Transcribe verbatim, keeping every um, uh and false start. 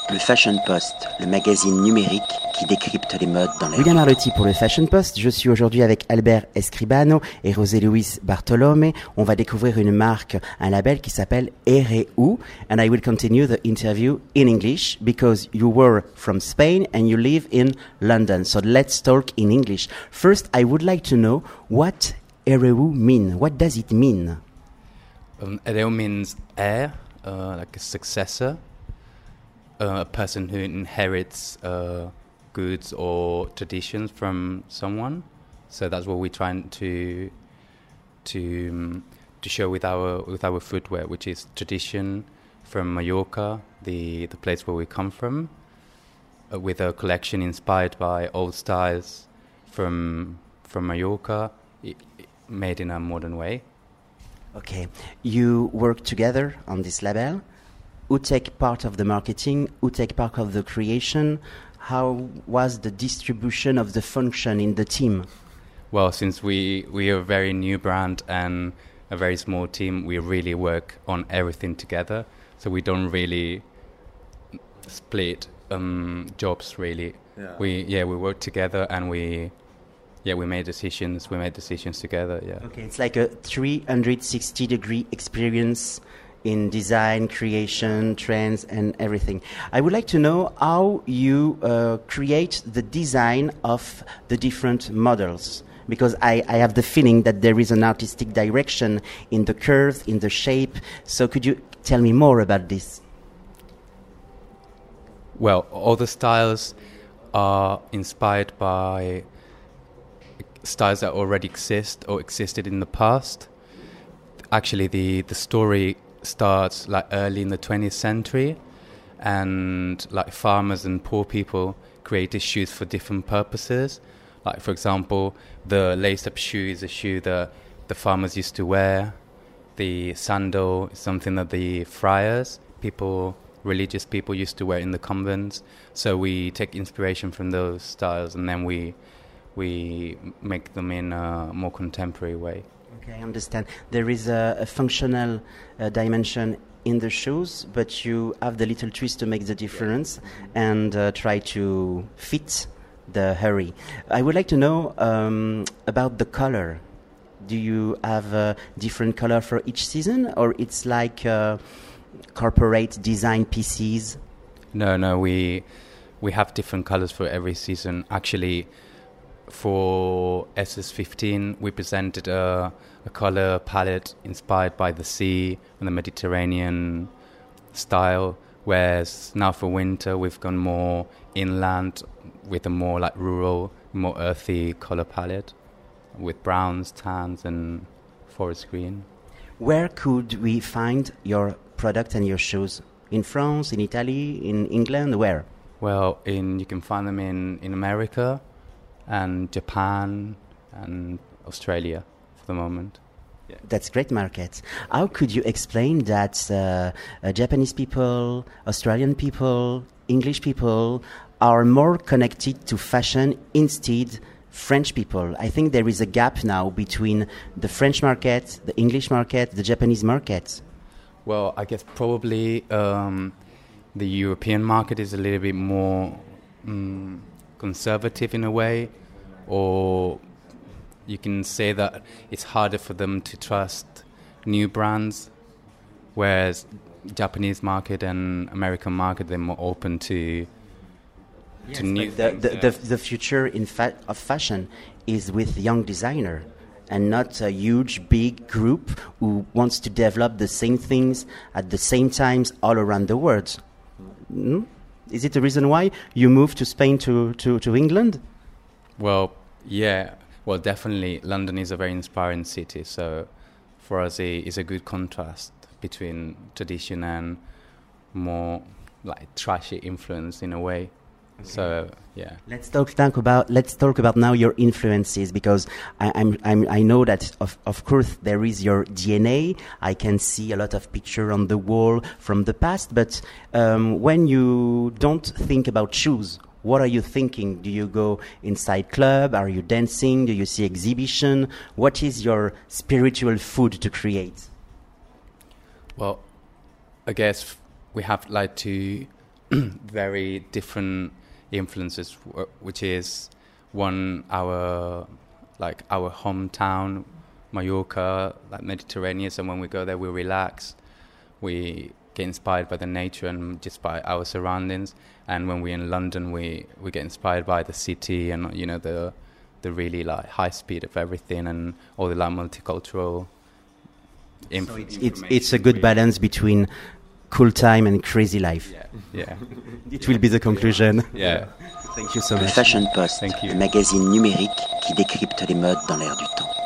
Le Fashion Post, le magazine numérique qui décrypte les modes dans la William Arlotti pour le Fashion Post. Je suis aujourd'hui avec Albert Escribano et José Luis Bartolome. On va découvrir une marque, un label qui s'appelle Ereu. And I will continue the interview in English because you were from Spain and you live in London. So let's talk in English. First, I would like to know what Ereu mean. What does it mean? Um, Ereu means heir, uh, like a successor. Uh, a person who inherits uh, goods or traditions from someone. So that's what we're trying to to um, to show with our with our footwear, which is tradition from Mallorca, the the place where we come from, uh, with a collection inspired by old styles from from Mallorca, I- I- made in a modern way. Okay, you work together on this label. Who take part of the marketing? Who take part of the creation? How was the distribution of the function in the team? Well, since we, we are a very new brand and a very small team, we really work on everything together. So we don't really split um, jobs, really. Yeah. We yeah we work together and we yeah we made decisions. We made decisions together. Yeah. Okay, it's like a three hundred sixty degree experience in design, creation, trends, and everything. I would like to know how you uh, create the design of the different models, because I, I have the feeling that there is an artistic direction in the curve, in the shape. So could you tell me more about this? Well, all the styles are inspired by styles that already exist or existed in the past. Actually, the, the story starts like early in the twentieth century, and like farmers and poor people created shoes for different purposes. Like, for example, the lace-up shoe is a shoe that the farmers used to wear. The sandal is something that the friars, people, religious people used to wear in the convents. So we take inspiration from those styles and then we we make them in a more contemporary way. Okay, I understand. There is a, a functional uh, dimension in the shoes, but you have the little twist to make the difference and uh, try to fit the hurry. I would like to know um, about the color. Do you have a different color for each season, or it's like uh, corporate design pieces? No, no, we we have different colors for every season. Actually, for S S fifteen, we presented a, a color palette inspired by the sea and the Mediterranean style, whereas now for winter, we've gone more inland with a more like rural, more earthy color palette with browns, tans, and forest green. Where could we find your product and your shoes? In France, in Italy, in England, where? Well, in you can find them in, in America and Japan and Australia for the moment. Yeah. That's great markets. How could you explain that uh, uh, Japanese people, Australian people, English people are more connected to fashion instead French people? I think there is a gap now between the French market, the English market, the Japanese market. Well, I guess probably um, the European market is a little bit more um, conservative in a way, or you can say that it's harder for them to trust new brands, whereas Japanese market and American market, they're more open to Yes, to new the, things. the, yeah. the, the future in fa- of fashion is with young designer and not a huge big group who wants to develop the same things at the same times all around the world. Mm? Is it the reason why you moved to Spain to, to, to England? Well, yeah. Well, definitely, London is a very inspiring city. So, for us, it is a good contrast between tradition and more like trashy influence in a way. Okay. So, yeah. Let's talk, talk about let's talk about now your influences, because I, I'm, I'm I know that of of course there is your D N A. I can see a lot of picture on the wall from the past, but um, when you don't think about shoes, what are you thinking? Do you go inside club? Are you dancing? Do you see exhibition? What is your spiritual food to create? Well, I guess we have like to very different influences, w- which is one our like our hometown, Mallorca, like Mediterranean. And when we go there, we relax, we get inspired by the nature and just by our surroundings. And when we're in London, we, we get inspired by the city and, you know, the the really like high speed of everything and all the like multicultural inf- so it's, it's it's a good balance between cool time and crazy life. Yeah, yeah. It will be the conclusion. Yeah. Thank you so Le much. Fashion Post, Thank you. le magazine numérique qui décrypte les modes dans l'air du temps.